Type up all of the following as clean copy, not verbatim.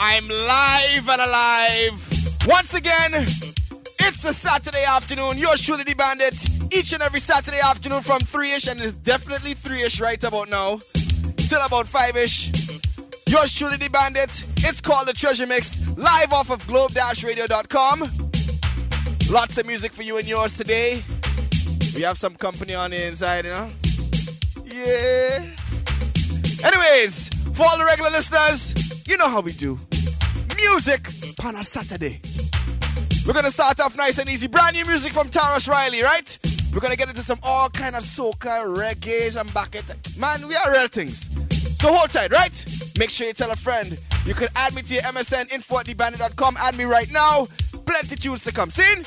I'm live and alive. Once again, it's a Saturday afternoon. Yours truly, the Bandit. Each and every Saturday afternoon from 3-ish, and it's definitely 3-ish right about now, till about 5-ish. Yours truly, the Bandit. It's called The Treasure Mix, live off of globe-radio.com. Lots of music for you and yours today. We have some company on the inside, you know? Yeah. Anyways, for all the regular listeners, you know how we do. Music on a Saturday. We're going to start off nice and easy. Brand new music from Tarrus Riley, right? We're going to get into some all kind of soca, reggae, and bucket. Man, we are real things. So hold tight, right? Make sure you tell a friend. You can add me to your MSN, info@thebandit.com. Add me right now. Plenty tunes to come. See?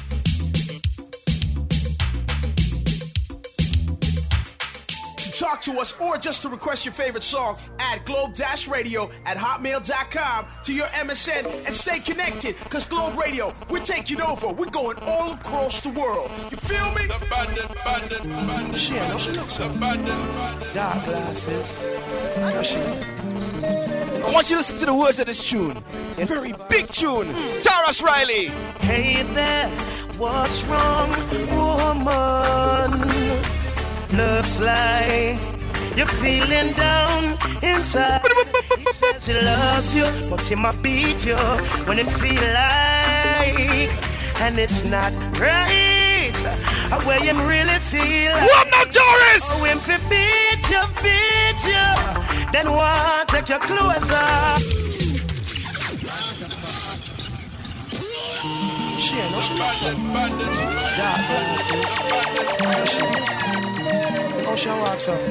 Talk to us or just to request your favorite song, add globe-radio@hotmail.com to your MSN and stay connected, because Globe Radio, we're taking over. We're going all across the world. You feel me? The bandit. She looks so dark glasses. I know she. I want you to listen to the words of this tune. A very big tune. Tarrus Riley. Hey there, what's wrong, woman? Looks like you're feeling down inside. He says he loves you, but he might beat you when it feel like, and it's not right. Where you really feel like. What now, Doris? Oh, if he beat you, then what? Take your clothes off. She looks so dark glasses. Oh, she walks up.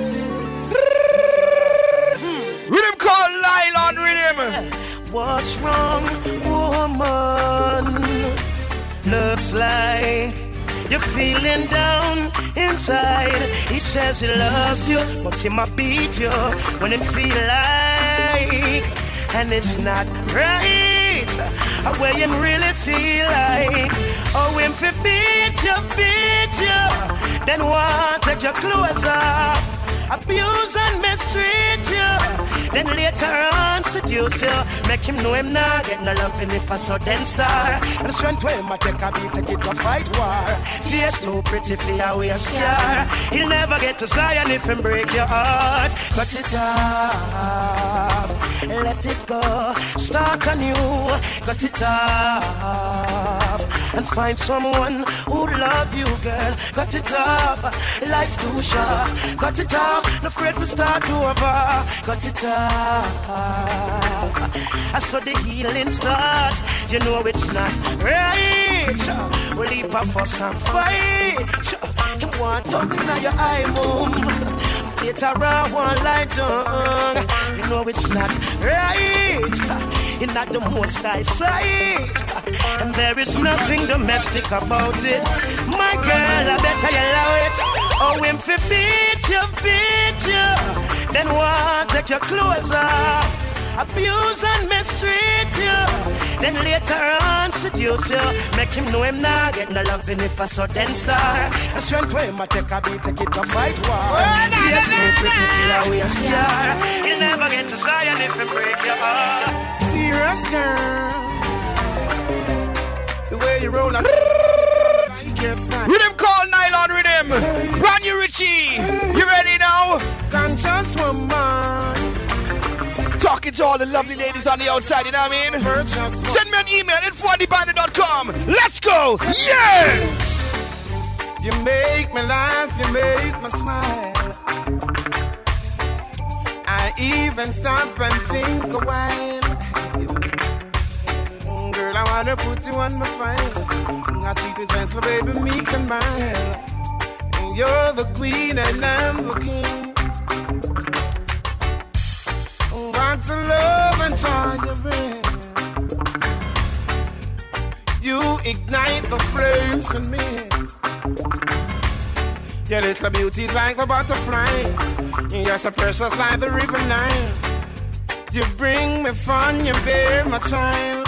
Rhythm called Nylon Rhythm. What's wrong, woman? Looks like you're feeling down inside. He says he loves you, but he might beat you when it feel like, and it's not right. Where you really feel like. Oh, if he beat you, then what? Take your clothes off. Abuse and mistreat you. Then later on seduce you. Make him know him not get no love if a sudden star. And the strength when I take a beat, take it to fight war. Face too pretty for your way a scar. He'll never get to Zion if him break your heart. Cut it off, let it go. Start anew, cut it off. And find someone who love you, girl. Cut it off, life too short. Cut it off, no afraid to start over. Cut it off. I saw the healing start. You know it's not right. We'll leap up for some fight. You want to open your eye, mom. Later on, one lie down. You know it's not right. You're not the most high side. And there is nothing domestic about it. My girl, I better you allow it. Oh, if he beat you, then what? Take your clothes off. Abuse and mistreat you. Then later on seduce you. Make him know him not get no loving if a sudden star. And strength when I take a beat, take it to fight war. Yes, too pretty feel away a scar. You'll never get to Zion if you break your heart. Serious girl, the way you roll on. Rhythm called Nylon Rhythm. Brand new Richie. You ready now? Conscious woman. Talking to all the lovely ladies on the outside, you know what I mean? Send me an email, info@thebandit.com. Let's go! Yeah! You make me laugh, you make me smile. I even stop and think a while. Girl, I wanna put you on my file. I treat you gentle, baby, meek and mild. And you're the queen and I'm the king. Want to love and joy you bring. You ignite the flames in me. Your little beauty's like the butterfly. You're so precious like the river Nile. You bring me fun, you bear my child.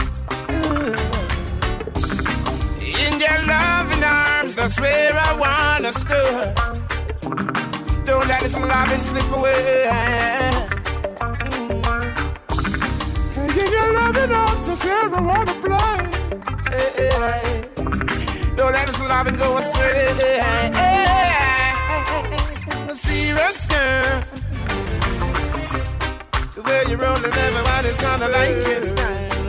In your loving arms, that's where I wanna stir. Don't let this loving slip away. In your loving Open arms, that's where I wanna fly. Hey, hey. Don't let us love and go astray. Hey, hey. A serious girl. The way you're rolling, everybody's gonna like your style.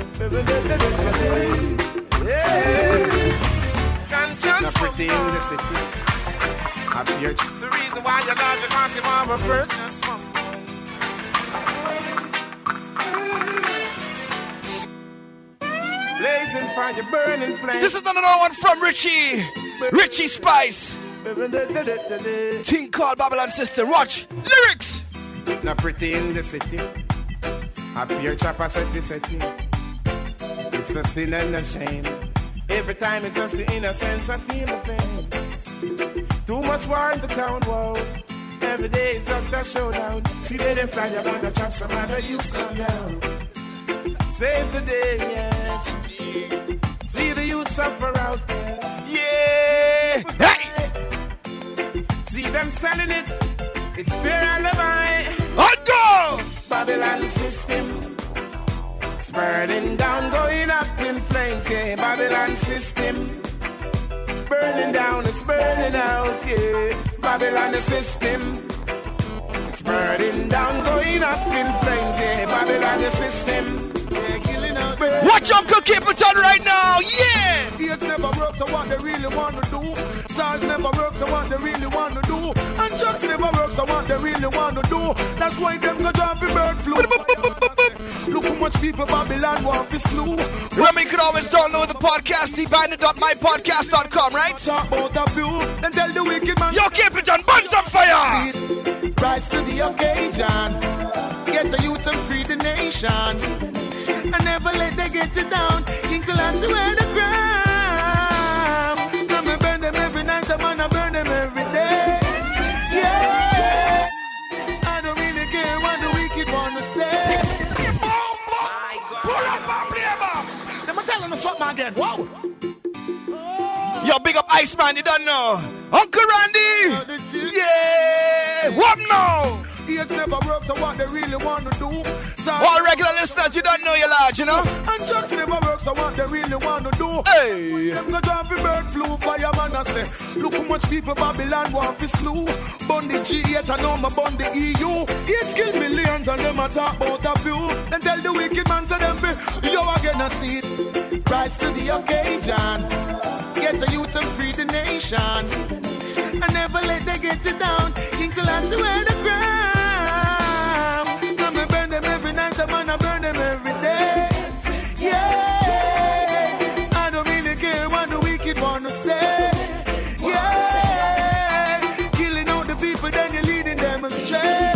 Yeah. Conscious pretty in the city. The reason why you love it, because you want a purchase woman. Blazing fire, burning flame. This is another one from Richie Spice. Thing called Babylon System. Watch lyrics. Not pretty in the city. Happy your chopper setting. It's a sin and a shame. Every time it's just the innocence I feel the pain. Too much war in the town, whoa. Every day is just a showdown. See they fly you on the chop, some other youths come down. Save the day, yes. See the youth suffer out there. Yeah! Hey! See them selling it. It's pure alibi. On go! Babylon system. It's burning down, going up in flames, yeah. Babylon system. Burning down, it's burning out, yeah. Babylon system. It's burning down, going up in flames, yeah. Babylon system. Watch Uncle Capleton right now, yeah! Ears never work to what they really want to do. Stars never work to what they really want to do. And trucks never work to what they really want to do. That's why them go drop the bird flu. Look how much people Babylon want to slew. Remember, you can always download the podcast, thebandit.mypodcast.com, right? Talk about the view, then tell the wicked man. Yo, Capleton, burn some fire! Rise to the occasion. Get the youth and free the nation. I never let them get it down. Kings will answer where the ground. Come and burn them every night. I'm gonna burn them every day. Yeah. I don't really care what the wicked wanna say. Pull up and play back. Them telling us something again. Whoa. Yo, big up Iceman, you don't know. Uncle Randy. Yeah. What now? Ears never work to what they really want to do. All regular listeners, you don't know you're large, you know? And trucks never work to what they really want to do. Hey! Them go down for bird flu, fireman I say. Look how much people Babylon want to slew. Bun the G8 and now my bun the EU. It's kill millions and them a talk about a few. Then tell the wicked man to them, yo again I see it. Rise to the occasion. Get the youth and free the nation. I never let them get it down. Kings will answer where the ground. Burn them every night, I'm gonna burn them every day. Yeah, I don't really care what the wicked wanna say. Yeah, killing all the people, then you're leading them astray.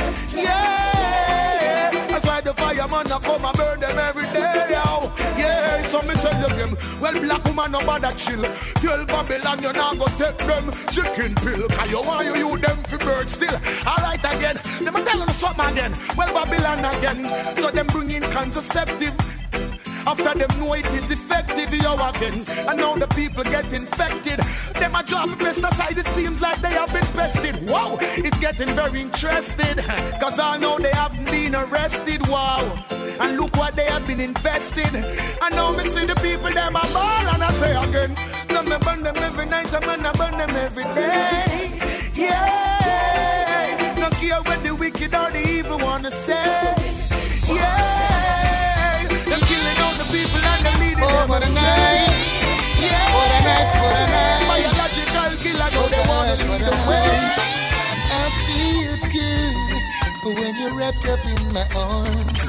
Yeah, that's why the fireman I come and burn them every day. Yo. Yeah, so me tell you them, well black woman no bother chill. Tell Babylon you not go take them chicken pill. Cause you want you them for bird still. Alright again, them a telling us something again. Well Babylon again, so them bring in contraceptive. After them know it is effective, yo again. And now the people get infected. Them a drop a pesticide, it seems like they have been pested. Wow, it's getting very interested. Cause I know they haven't been arrested, wow. And look what they have been invested. And now me see the people, them a ball. And I say again, so me burn them every night, and I burn them every day. Yeah, don't care what the wicked or the evil wanna say. Yeah, them killing all the people and them leading them astray. Yeah, what a night. Biological killer, no they wanna lead the way. I feel good when you're wrapped up in my arms.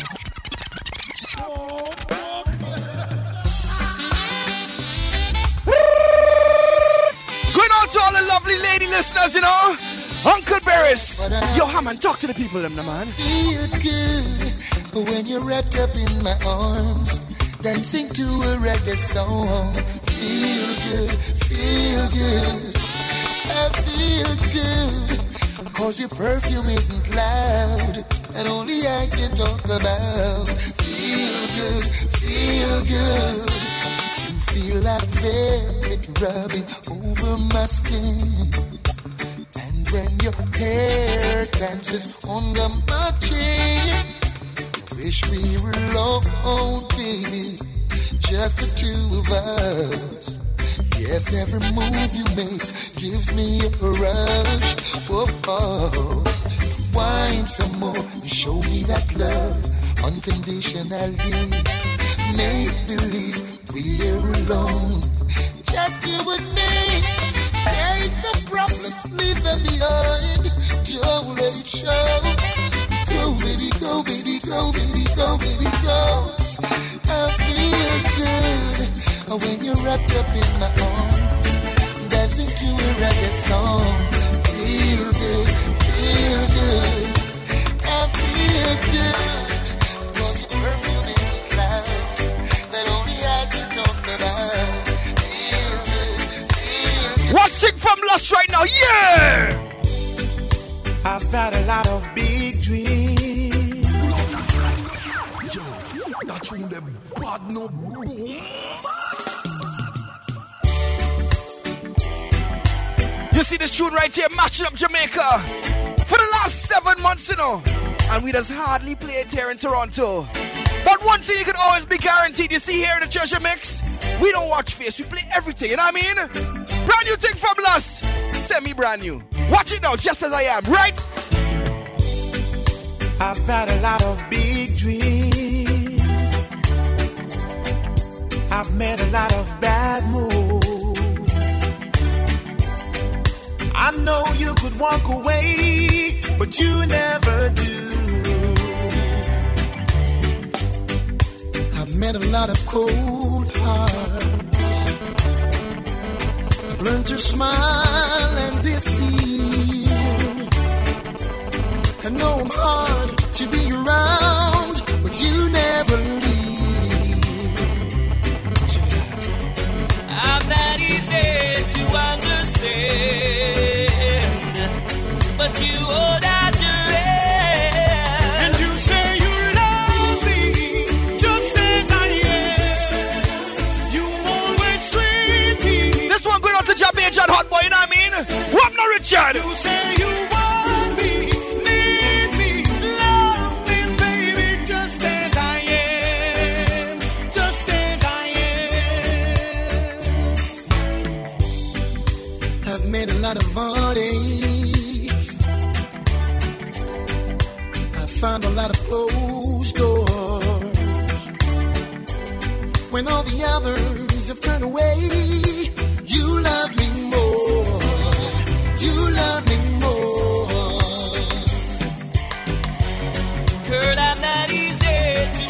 Going out to all the lovely lady listeners, you know. Uncle Barris. Yo, Hammond, talk to the people, them, man. Feel good when you're wrapped up in my arms, dancing to a reggae song. Feel good. I feel good, cause your perfume isn't loud, and only I can talk about. Feel good. You feel like velvet rubbing over my skin. When your hair dances under my chin, Wish we were alone, baby, just the two of us. Yes, every move you make gives me a rush. Oh, oh. Wine some more and show me that love unconditionally. Make believe we're alone, just you and me. Take the problems, leave them behind. Don't let it show. Go, baby, go, baby, go, baby, go, baby, go. I feel good when you're wrapped up in my arms, dancing to a reggae song. Feel good, feel good. I feel good, cause your perfume is a cloud that only I can talk about. Feel good, feel good. Watching from Lust right now, yeah! I've had a lot of big dreams. Yo, that's when the bad no boom. You see this tune right here, matching up Jamaica for the last 7 months, you know, and we just hardly play it here in Toronto. But one thing you can always be guaranteed, you see here in the Treasure Mix, we don't watch face, we play everything, you know what I mean? Brand new thing from Lust, semi-brand new. Watch it now, just as I am, right? I've had a lot of big dreams. I've made a lot of bad moves. I know you could walk away, but you never do. I've met a lot of cold hearts. I've learned to smile and deceive. I know I'm hard to be around, but you never leave. I'm not easy to understand, but you hold out your hand. And you say you love me just as I am. You always treat me. This one going out to Jamaica and Hot Boy, you know what I mean? What now, Richard? You say you want me, need me, love me, baby, just as I am, just as I am. I've made a lot of heartaches. I've found a lot of closed doors. When all the others have turned away, you love me more. You love me more. Girl, I'm not easy to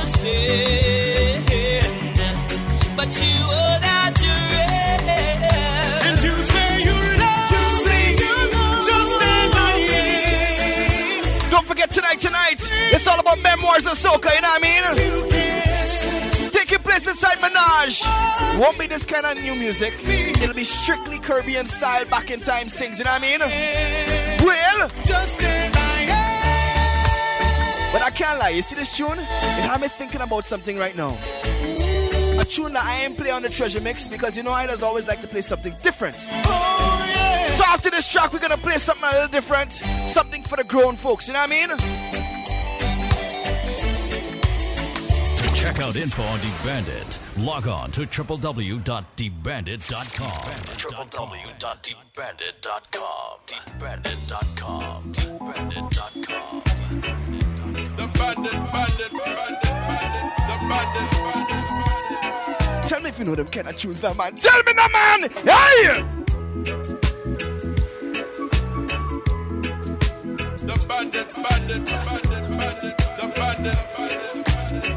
understand, but you hold out your hand. And you say you love me just as I am. Don't forget tonight, it's all about memoirs of soca, you know what I mean? Taking place inside Menage. Won't be this kind of new music. It'll be strictly Caribbean style, back in time things, you know what I mean? Well, Just as I am. but I can't lie, you see this tune? It had me thinking about something right now. A tune that I ain't play on the Treasure Mix because you know I just always like to play something different. Oh, yeah. So after this track, we're gonna play something a little different, something for the grown folks, you know what I mean? To check out info on The Bandit, log on to www.thebandit.com. www.thebandit.com. Thebandit.com. Thebandit.com. The bandit, bandit, bandit, bandit, the bandit, bandit, bandit. Tell me if you know them kind of tunes now, man. Tell me now, man! Hey! The bandit, bandit, bandit, bandit, the bandit, bandit, bandit.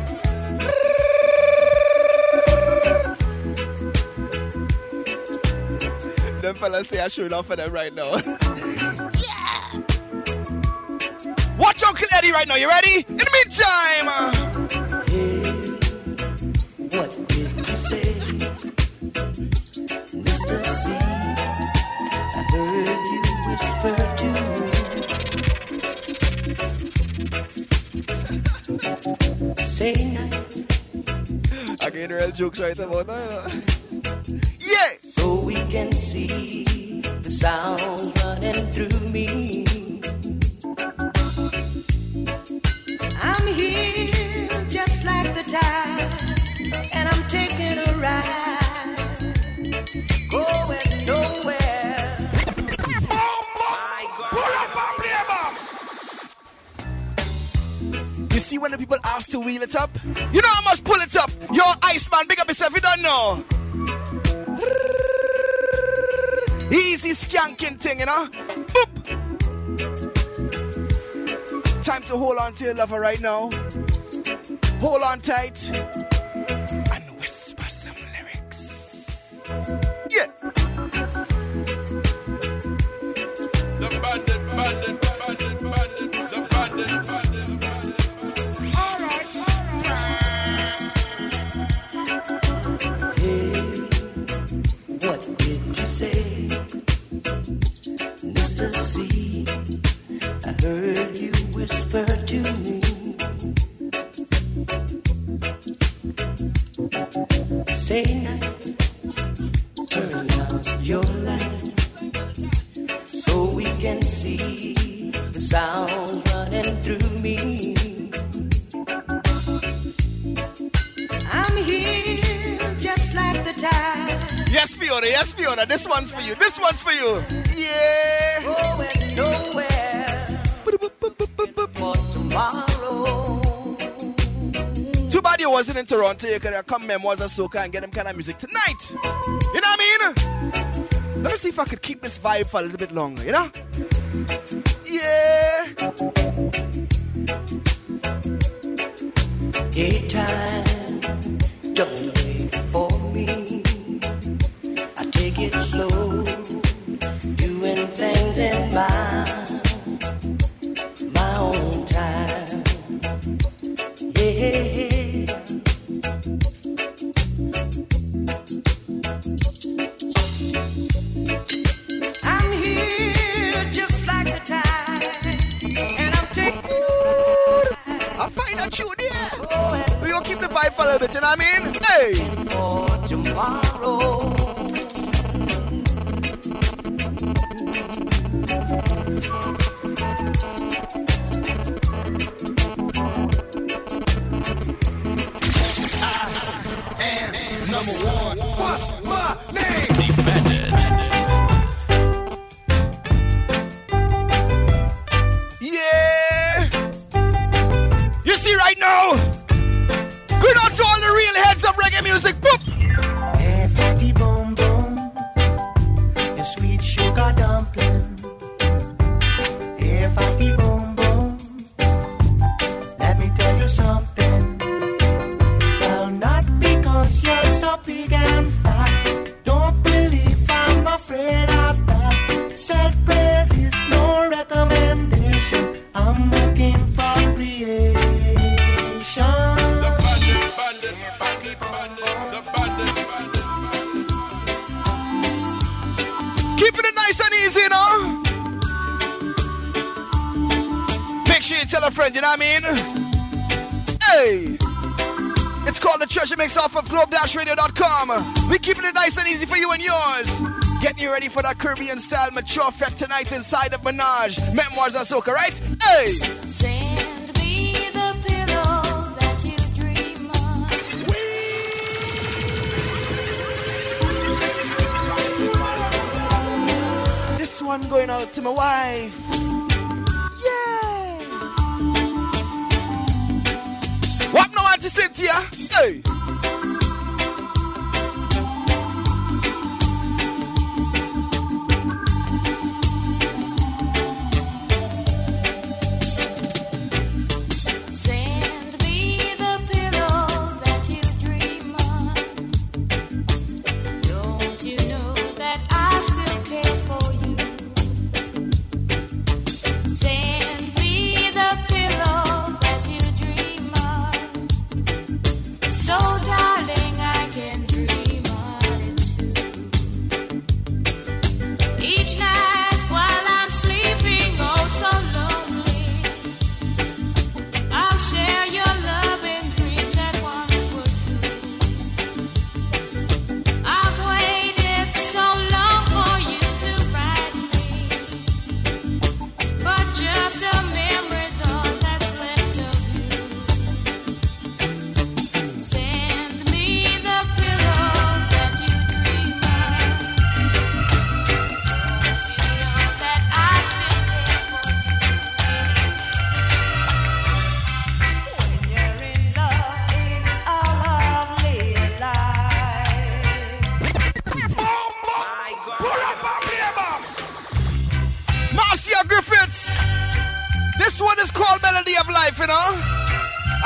Them fellas say I showed off for them right now. Yeah! Watch Uncle Eddie right now, you ready? In the meantime! What did you say, Mr. C? I heard you whisper to me. Say night. I can real jokes right about that. Yeah! So we can see the sound running through me. I'm here just like the tide, and I'm taking a ride, going nowhere. Pull up and play back. You see when the people ask to wheel it up? You know how much pull it up? Yo, Iceman, big up yourself, you don't know. Easy skanking thing, you know? Boop. Time to hold on to your lover right now. Hold on tight and whisper some lyrics. Yeah. The bandit, bandit, bandit, bandit, the bandit, bandit, bandit. All right, Hey, what did you say, Mr. C? I heard you whisper to me. Say night, turn out your light, so we can see the sound running through me. I'm here just like the tide. Yes, Fiona, this one's for you. This one's for you. Yeah. Going nowhere for tomorrow. Too bad you wasn't in Toronto. You could have come Memoirs of Soca and get them kind of music tonight. You know what I mean? Let me see if I could keep this vibe for a little bit longer, you know? Yeah. Daytime, don't wait for me. I take it slow, doing things in my own time. Yeah. I'm here just like the tide, and I'm taking. I'll find a tune here. We're going to keep the vibe for a little bit, you know what I mean? Hey! For tomorrow. number one. What's my name? The Bandit. Yeah! You see right now? Good out to all the real heads of reggae music. Boop! Hey, fatty boom boom, your sweet sugar dumpling. Hey, fatty boom boom, let me tell you something. Well, not because you're so big and fat. Don't believe I'm afraid of that. Self-praise is no recommendation. I'm looking for creation. Keeping it nice and easy, you know? Make sure you tell a friend, you know what I mean? Hey! It's called the Treasure Mix off of globe-radio.com. We're keeping it nice and easy for you and yours. Getting you ready for that Caribbean style mature effect tonight inside of Menage. Memoirs of Soca, right? Hey! Send me the pillow that you dream of. This one going out to my wife. Yeah! What no want to Cynthia? Hey! Send me the pillow that you dream of. Don't you know that I still care for you? Send me the pillow that you dream of. So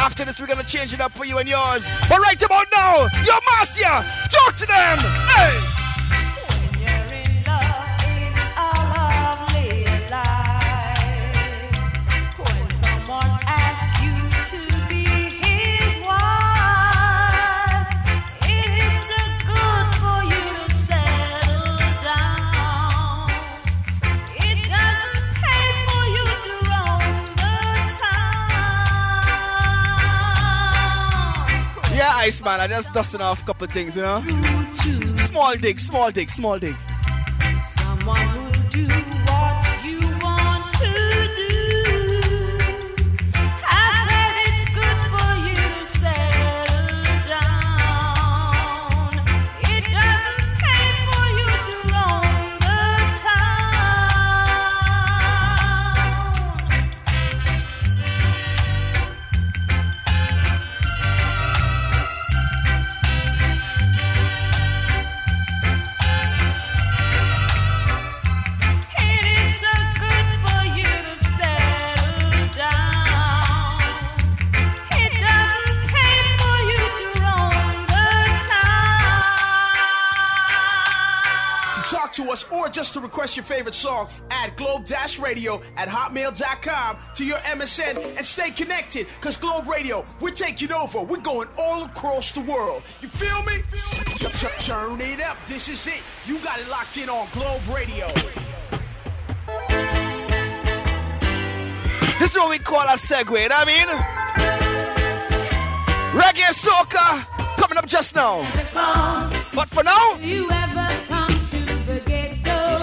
After this, we're gonna change it up for you and yours. But right about now, your Marcia, talk to them. Hey. When you're in love, it's a lovely life. When someone asks you to be his wife, it is so good for you to settle down. It doesn't pay for you to roam the town. Yeah, Iceman, I just dusting off a couple of things, you know? Small dig, small dig, small dig. Someone who'll do what you want to do. I said it's good for you to settle down. It doesn't pay for you to roam the It is so good for you to settle down. It doesn't pay for you to roam the town. To talk to us or just to request your favorite song, add globe-radio@hotmail.com to your MSN and stay connected, because Globe Radio, we're taking over. We're going all across the world. You feel me? Turn it up. This is it. You got it locked in on Globe Radio. This is what we call a segue, you know what I mean? Reggae soca coming up just now. But for now, Do you ever come to the ghetto?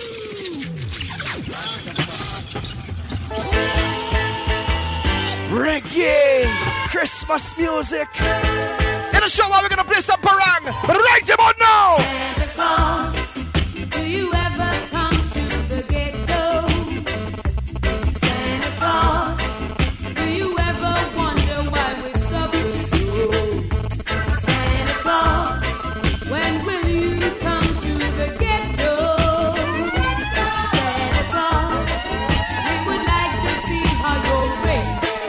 reggae, Christmas music. In the show, we're gonna play some parang. But right about now, Santa Claus, do you ever come to the ghetto? Santa Claus, do you ever wonder why we're suffering so? Santa Claus, when will you come to the ghetto? Santa Claus, we would like to see how you're raised.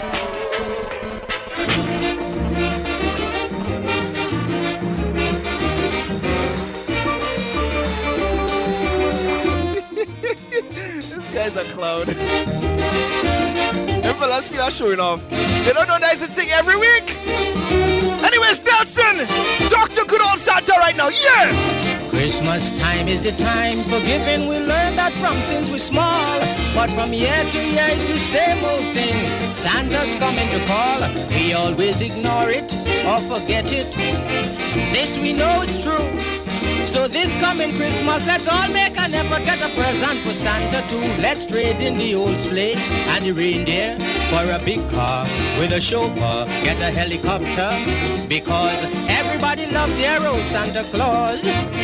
this guy's a clown. Them fellas feel are showing off. They don't know that it's a thing every week. Anyways, Nelson, talk to good old Santa right now. Yeah! Christmas time is the time for giving. We learn that from since we're small. But from year to year it's the same old thing. Santa's coming to call. We always ignore it or forget it. This we know it's true. So this coming Christmas, let's all make an effort, get a present for Santa too. Let's trade in the old sleigh and the reindeer for a big car with a chauffeur. Get a helicopter because everybody loves their old Santa Claus.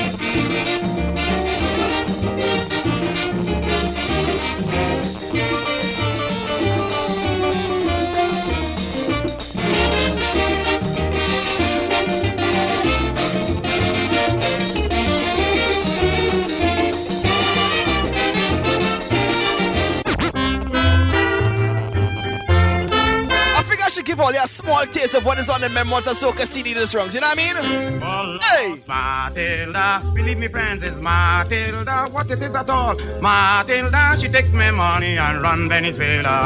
Should give all you a small taste of what is on the Memoirs of Soca CD this wrongs, you know what I mean? Hey! Matilda, believe me friends, it's Matilda, what it is at all. Matilda, she takes me money and run Venezuela.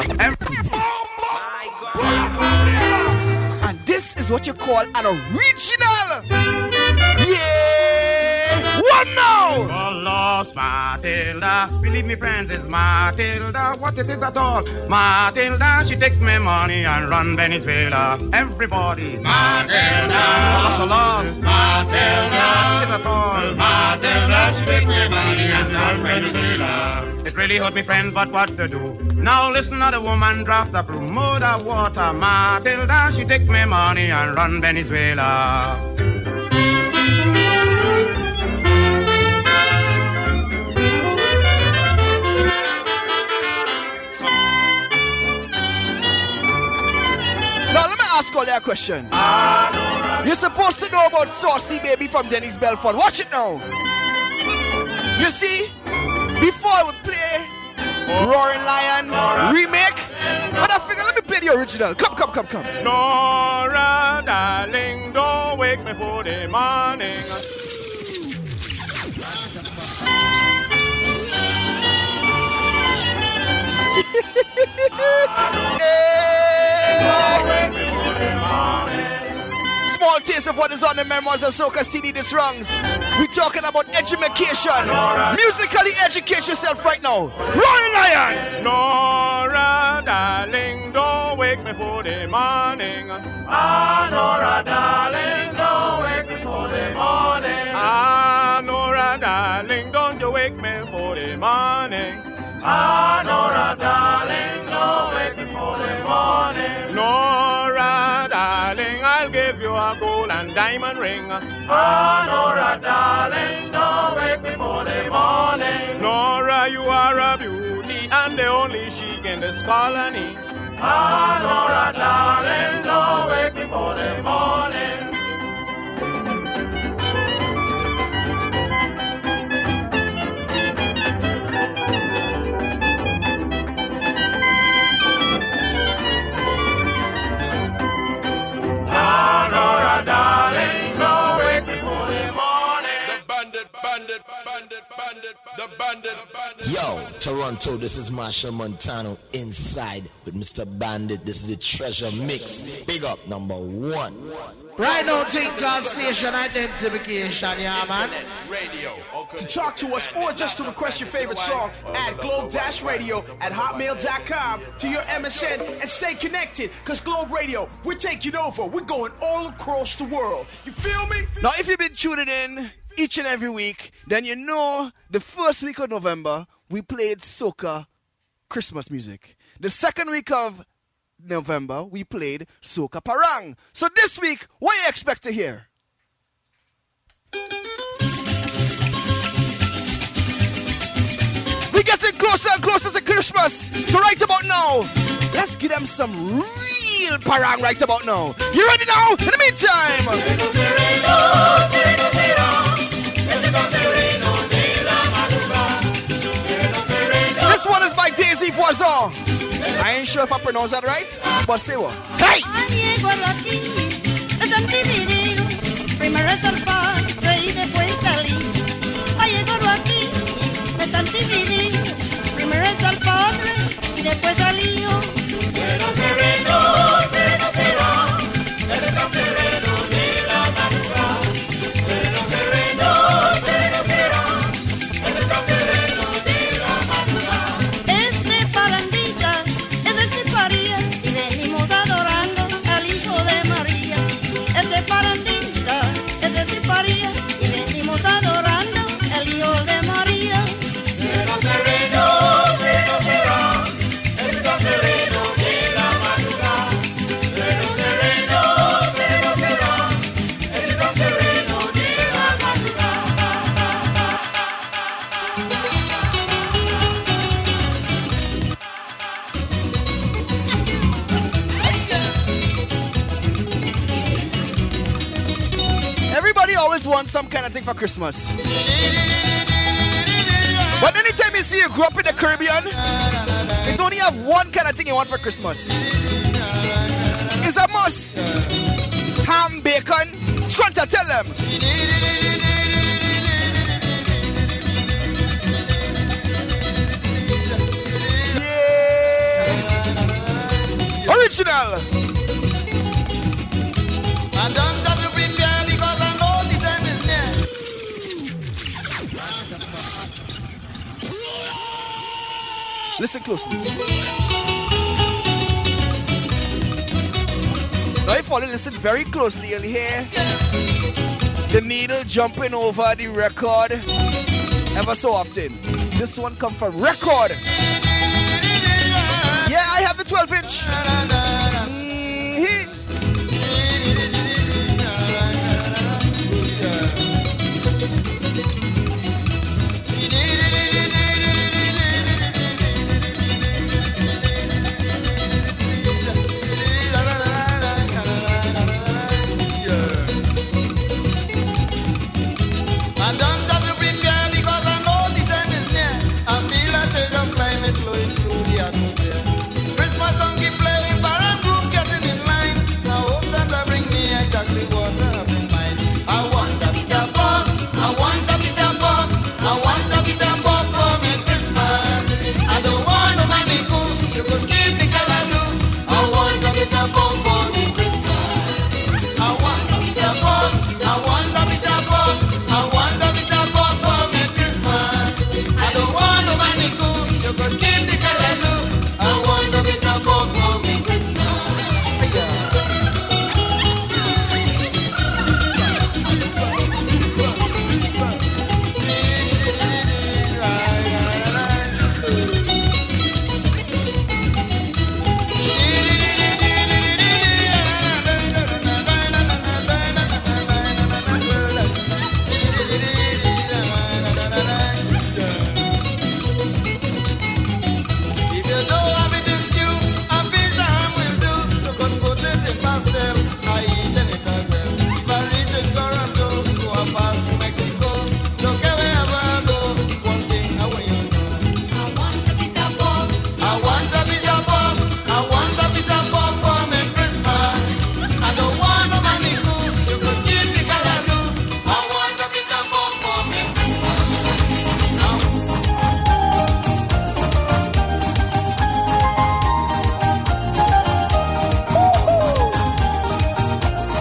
And this is what you call an original. Yeah! What now? Oh, lost Matilda, believe me friends, it's Matilda, what it is at all. Matilda, she takes me money and run Venezuela. Everybody, Matilda, lost Matilda, it at all. Matilda, she takes me money and run Venezuela. It really hurt me friends, but what to do? Now listen to the woman draft up through mud of water. Matilda, she takes me money and run Venezuela. Now let me ask all that question. You're supposed to know about Saucy Baby from Denny's Belfort. Watch it now. You see, before I would play Roaring Lion remake. But I figure, let me play the original. Come. Nora, darling, don't wake me for the morning. Small taste of what is on the Memoirs of Soca CD this rungs. We're talking about education. Musically educate yourself right now. Roaring Lion! Nora, darling, don't wake me for the morning. Ah, Nora, darling, don't wake me for the morning. Ah, Nora, darling, don't you wake me for the morning. Ah, Nora, darling, don't wake me for the morning. Nora, darling, I'll give you a gold and diamond ring. Ah, Nora, darling, don't wake me for the morning. Nora, you are a beauty and the only chic in this colony. Ah, Nora, darling, don't wake me for the morning. Yo, Toronto, this is Marshall Montano inside with Mr. Bandit. This is the Treasure Mix. Big up, #1. Right now, take God's station identification, yeah, man. To talk to us or just to request your favorite song, add globe-radio@hotmail.com to your MSN and stay connected, because Globe Radio, we're taking over. We're going all across the world. You feel me? Now, if you've been tuning in each and every week, then you know the first week of November, we played Soca Christmas music. The second week of November, we played Soca Parang. So this week, what do you expect to hear? We're getting closer and closer to Christmas. So right about now, let's give them some real Parang right about now. You ready now? In the meantime... This one is by Daisy Voisin. I ain't sure if I pronounce that right, but say what? Hey! Primero es el padre y después salir. Ay, llegó aquí, me tan dividido. Primero es el padre y después salió. Pero sereno será, ese tan sereno de la madrugada. Pero sereno será, ese tan sereno de la madrugada. Este parandita es de Ciparía y venimos adorando al Hijo de María. Este parandita es de Ciparía y venimos adorando al Hijo de María. Pero sereno será, ese tan sereno de la madrugada. Pero sereno será, ese tan sereno de la madrugada. Everybody always wants some kind of thing for Christmas. But anytime you see you grow up in the Caribbean, you only have one kind of thing you want for Christmas. It's a must. Ham, bacon, Squanta, tell them. Yeah. Original. I don't have to prepare because I know the time is near. Listen closely. Now if you listen very closely, you'll hear the needle jumping over the record ever so often. This one come from record. Yeah, I have the 12-inch. I don't have to prepare because I know the time is near. I feel a change of climate flowing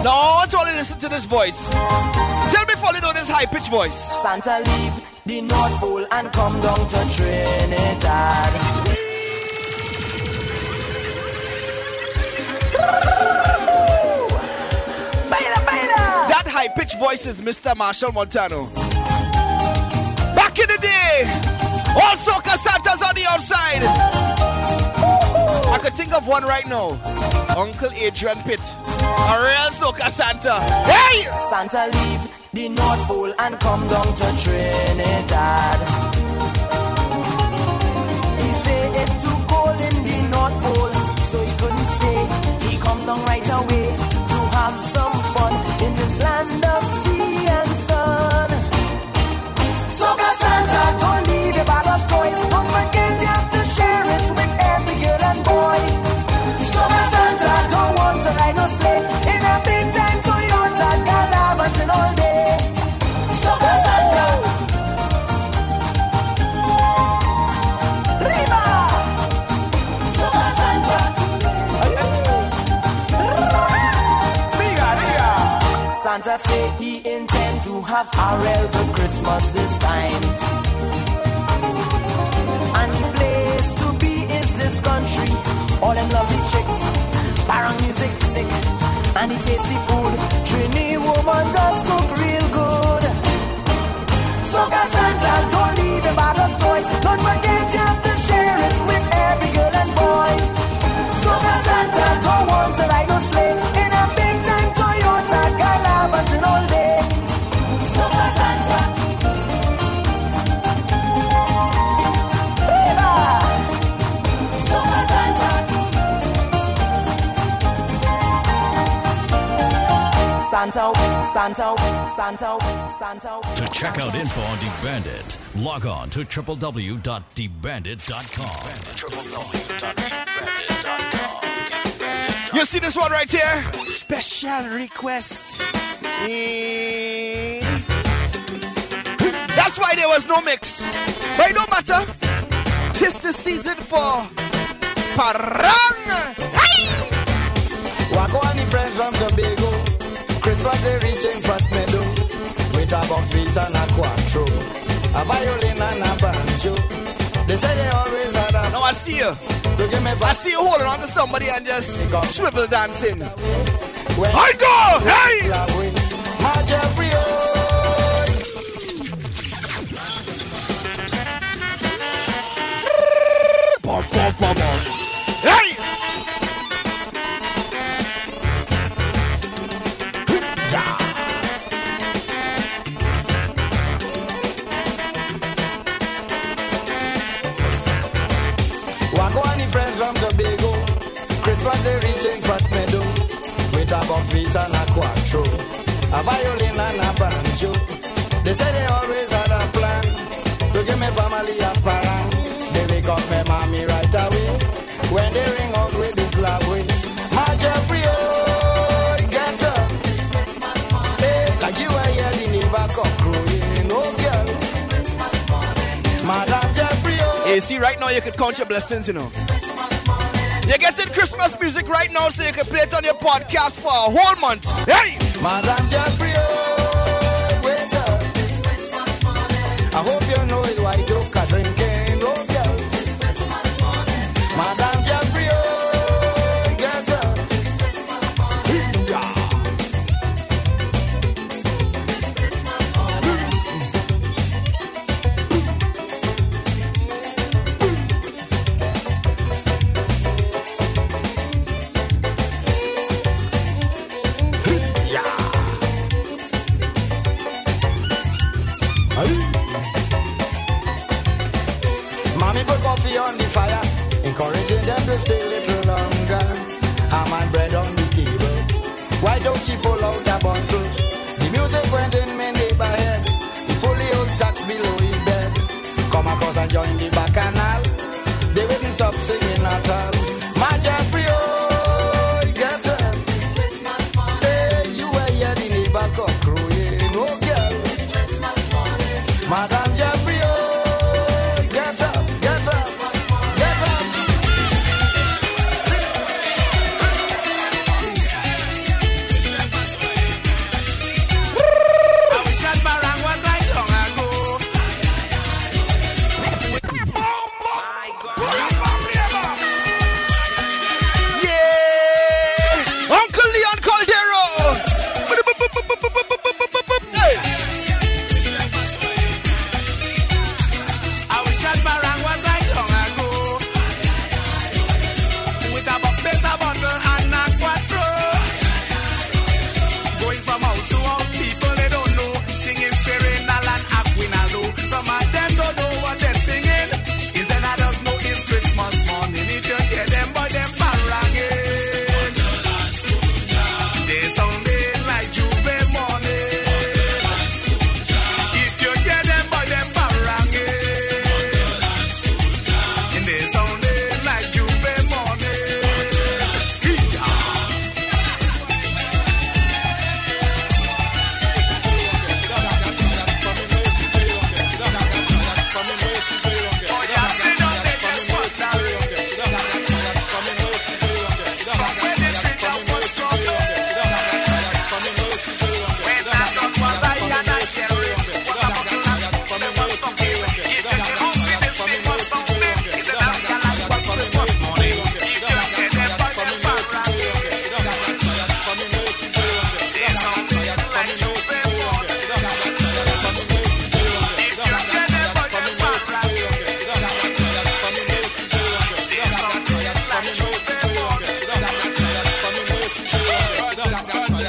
Don't only listen to this voice. Tell me if you know this high-pitched voice. Santa leave the North Pole and come down to Trinidad. That high-pitched voice is Mr. Marshall Montano. Back in the day, all soca Santas on the outside. I could think of one right now. Uncle Adrian Pitt, a real soca Santa. Hey! Santa leave the North Pole and come down to Trinidad. He say it's too cold in the North Pole, so he couldn't stay. He come down right away to have some fun in this land of sea and sun. Soca Santa, don't leave a bag of toys. Don't forget you have to share it with every girl and boy. Soca Santa don't want to ride no sleigh in a big time Toyota Galabatin all day. Soca Santa, Riba, Soca Santa, Santa say he intend to have a real good Christmas this time. And the place to be is this country. All them lovely chicks, barang music sick, and the tasty food. Trini woman does cook real good. Soca Santa, don't leave a bag of toys. Don't forget you have to share it with every girl and boy. Soca Santa don't want to ride no sleigh in a big time Toyota Galabatin all day. Soca Santa, Viva! Soca Santa, Santa, Santa, Santa, Santa. To check out info on The Bandit, log on to www.thebandit.com. You see this one right here? Special request. That's why there was no mix. But it don't matter. Tis the season for Parang. Hey! Wako and the friends from Tobago. Christmas they reaching Fat Meadow. With a box beats and a quattro, a violin and a banjo. They say they always had a... Now I see you. I see you holding on to somebody and just swivel dancing. I go! Hey! My Jeffrey, hey! Wako and the friends from Tobago. Christmas they reaching Fat Meadow. With a box beats and a quattro, a violin and a banjo. They say they always had a plan to give me family a parang. They wake up my mommy right away when they ring out with this love way. My Jeffrey, oh, get up. Hey, like you are here, the neighbor come crowing, oh girl. Madam Jeffrey, oh. Hey, see, right now you could count your blessings, you know. You're getting Christmas music right now so you can play it on your podcast for a whole month. Hey! Madam Jeffrey, oh, wake up. I hope you know it's white oak a drinking, oh girl. Madam Jeffrey, oh, get up. Mommy put coffee on the fire, encouraging them to stay a little longer. Ham and bread on the table. Why don't she pull out the bottle? The music went in my neighborhood. He pull the old sax below his bed. Come across and join the bacchanal. They wouldn't stop singing at all. My Jeffrey, oh, get up. Hey, you were here, the neighbor come crowing, oh girl. Madam Jeffrey, oh, get up, get up, get up.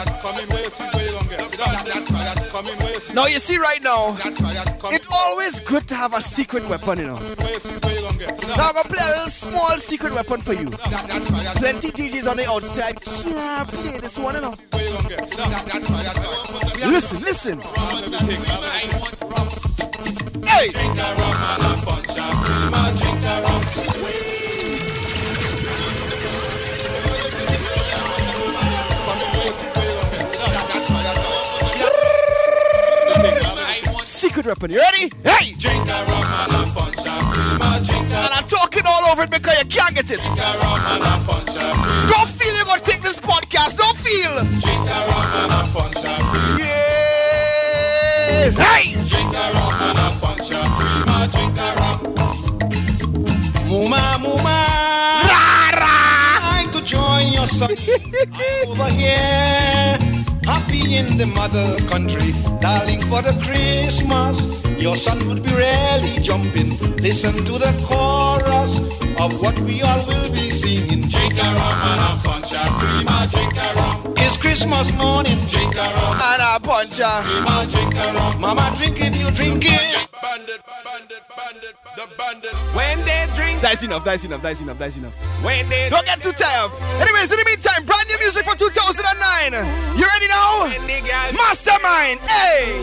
Now you see right now, it's always good to have a secret weapon, you know. Now I'm gonna play a little small secret weapon for you. Plenty DJs on the outside can't play this one, you know. Listen, listen. Hey! Secret weapon, you ready? Hey! And I'm talking all over it because you can't get it. Don't feel you're gonna take this podcast. Don't feel. Yeah! Hey! Muma, muma. Trying to join your son over here. Happy in the mother country, darling, for the Christmas. Your son would be really jumping. Listen to the chorus of what we all will be singing. Drink a rum and a punch a prima, drink a rum. It's Christmas morning. Drink a rum and a punch a prima, drink a rum. Mama, drink if you drink it. Bandit, bandit, bandit, the bandit. When they drink. That's enough, that's enough, that's enough, that's enough. When they don't get too tired. Anyways, in the meantime, brand new music for 2009. You ready now? Mastermind, hey!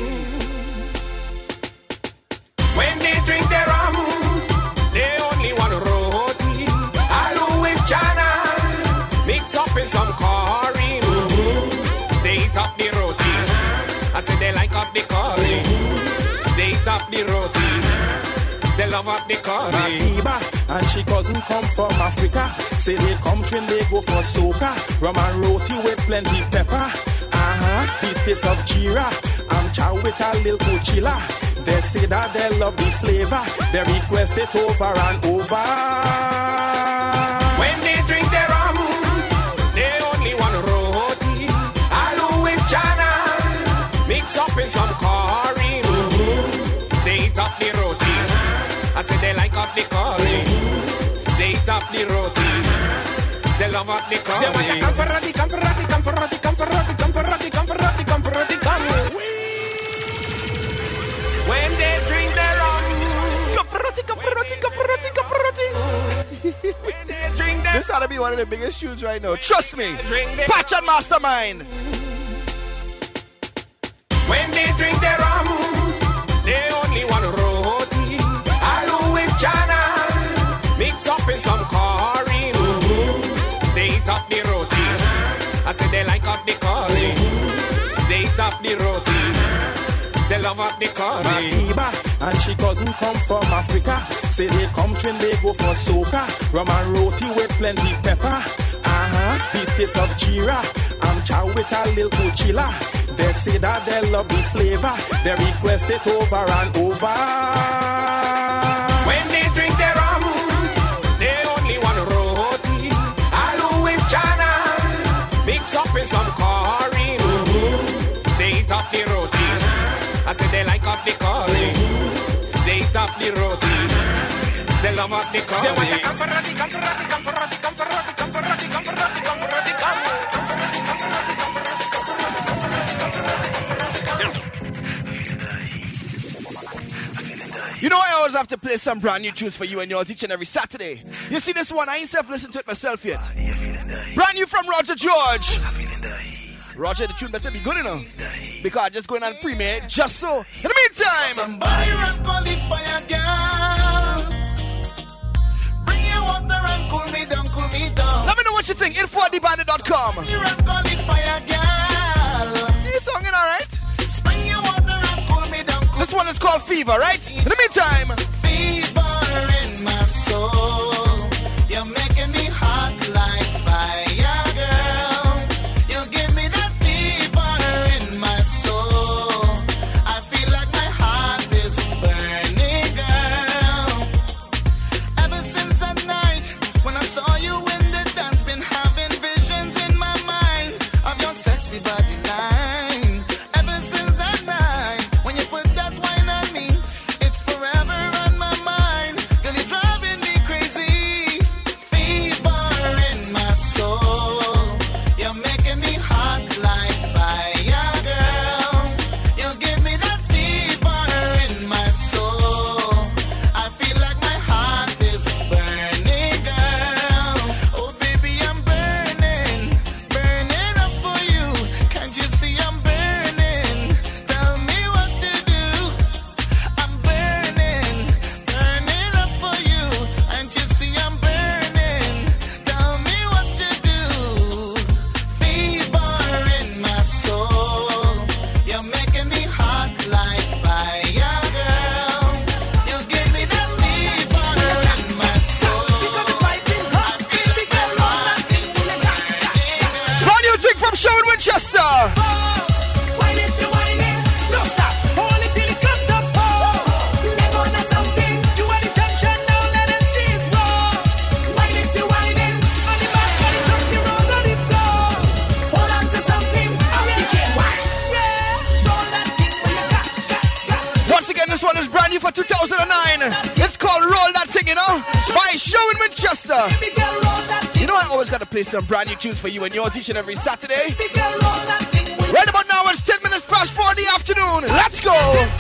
When they drink their rum, they only want roti. Aloo with chana, mix up in some curry. They eat up the roti. I say they like up the curry. They eat up the roti. They love up the curry. Madiba and she cousin come from Africa. Say they come train, they go for soca. Rum and roti with plenty pepper. The taste of Jira. I'm chow with a little coachilla. They say that they love the flavor. They request it over and over. When they drink their rum, they only want roti. Aloo with chana, mix up in some curry. They eat up the roti. I say they like up the curry. They eat up the roti. They love up the curry. They want to come for roti, come for roti, come for roti, come for roti, come for roti, come for roti, come for roti, come. When they drink their rum, come for roti, come for roti, come for roti, come for roti. When they drink their this ought to be one of the biggest tunes right now. Trust me. Patch and Mastermind. When they drink their rum, they only want roti. Aloo with chana, mix up in some curry. They eat up the roti. I say they like up the curry. They eat up the roti. They love up the curry. Madiba and she cousin come from Africa. Say they come train, they go for soca. Rum and roti with plenty pepper. The taste of Jira. I'm chow with a little coachilla. They say that they love the flavor. They request it over and over. When they drink their rum, they only want roti. Aloo with chana, mix up in some curry. They eat up the roti. I say they like up the curry. They eat up the roti. They love up the curry. They want to come for roti, come for roti, come for roti, come for roti, come for roti, come for roti, come for roti, come. You know I always have to play some brand new tunes for you and yours each and every Saturday. You see this one, I ain't self-listened to it myself yet. Brand new from Roger George. Roger, the tune better be good enough. Because I'm just going on premiere just so. In the meantime, somebody rock on the fire, girl. Bring your water and cool me down, cool me down. Let me know what you think. info@thebandit.com. Rock on the fire, girl. You songing alright? Spring your water and cool me down. This one is called Fever, right? In the meantime, fever in my soul. You're making me hot like fire, girl. You give me that fever in my soul. I feel like my heart is burning, girl. Ever since that night when I saw you in the dance, been having visions in my mind of your sexy body line. Ever since that night when you put that wine on me, it's forever and It's called Roll That Thing, you know, by Sherwin Winchester. You know I always got to play some brand new tunes for you and yours each and every Saturday. Right about now it's 10 minutes past 4 in the afternoon. Let's go.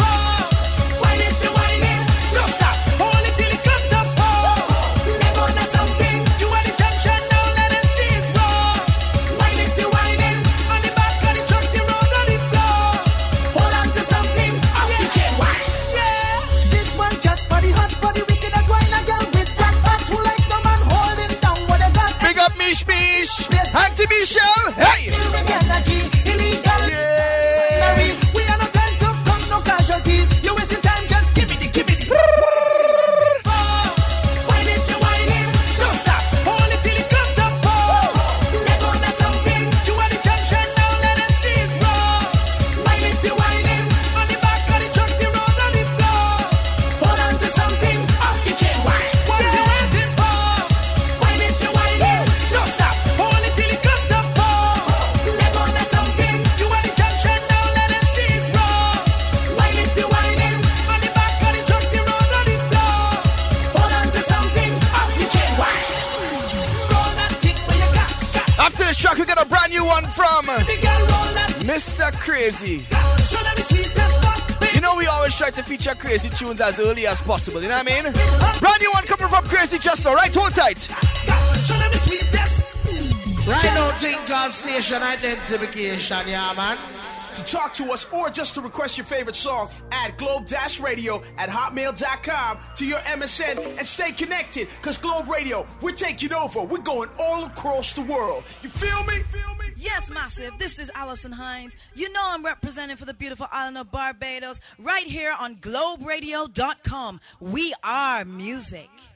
Auntie Michelle, hey! We are not time to come no casualties. You wasting time, just give it. Wine it, you wine it, don't stop. Hold it till it comes up. Let go of something. You are the junction now, let them see it raw. Wine it, you wine it, on the back of the truck, the road on the floor. Hold on to something, off the chain, wine. What you waiting for? Wine it, you wine it, don't stop. Track, we got a brand new one from Mr. Crazy. You know we always try to feature crazy tunes as early as possible, you know what I mean? Brand new one coming from Crazy Chester, right? Hold tight. Right now, think God station identification, yeah man. To talk to us or just to request your favorite song, add globe-radio@hotmail.com to your MSN and stay connected, because Globe Radio, we're taking over. We're going all across the world. You feel me? Yes, Massive. This is Allison Hines. You know I'm representing for the beautiful island of Barbados right here on globeradio.com. We are music.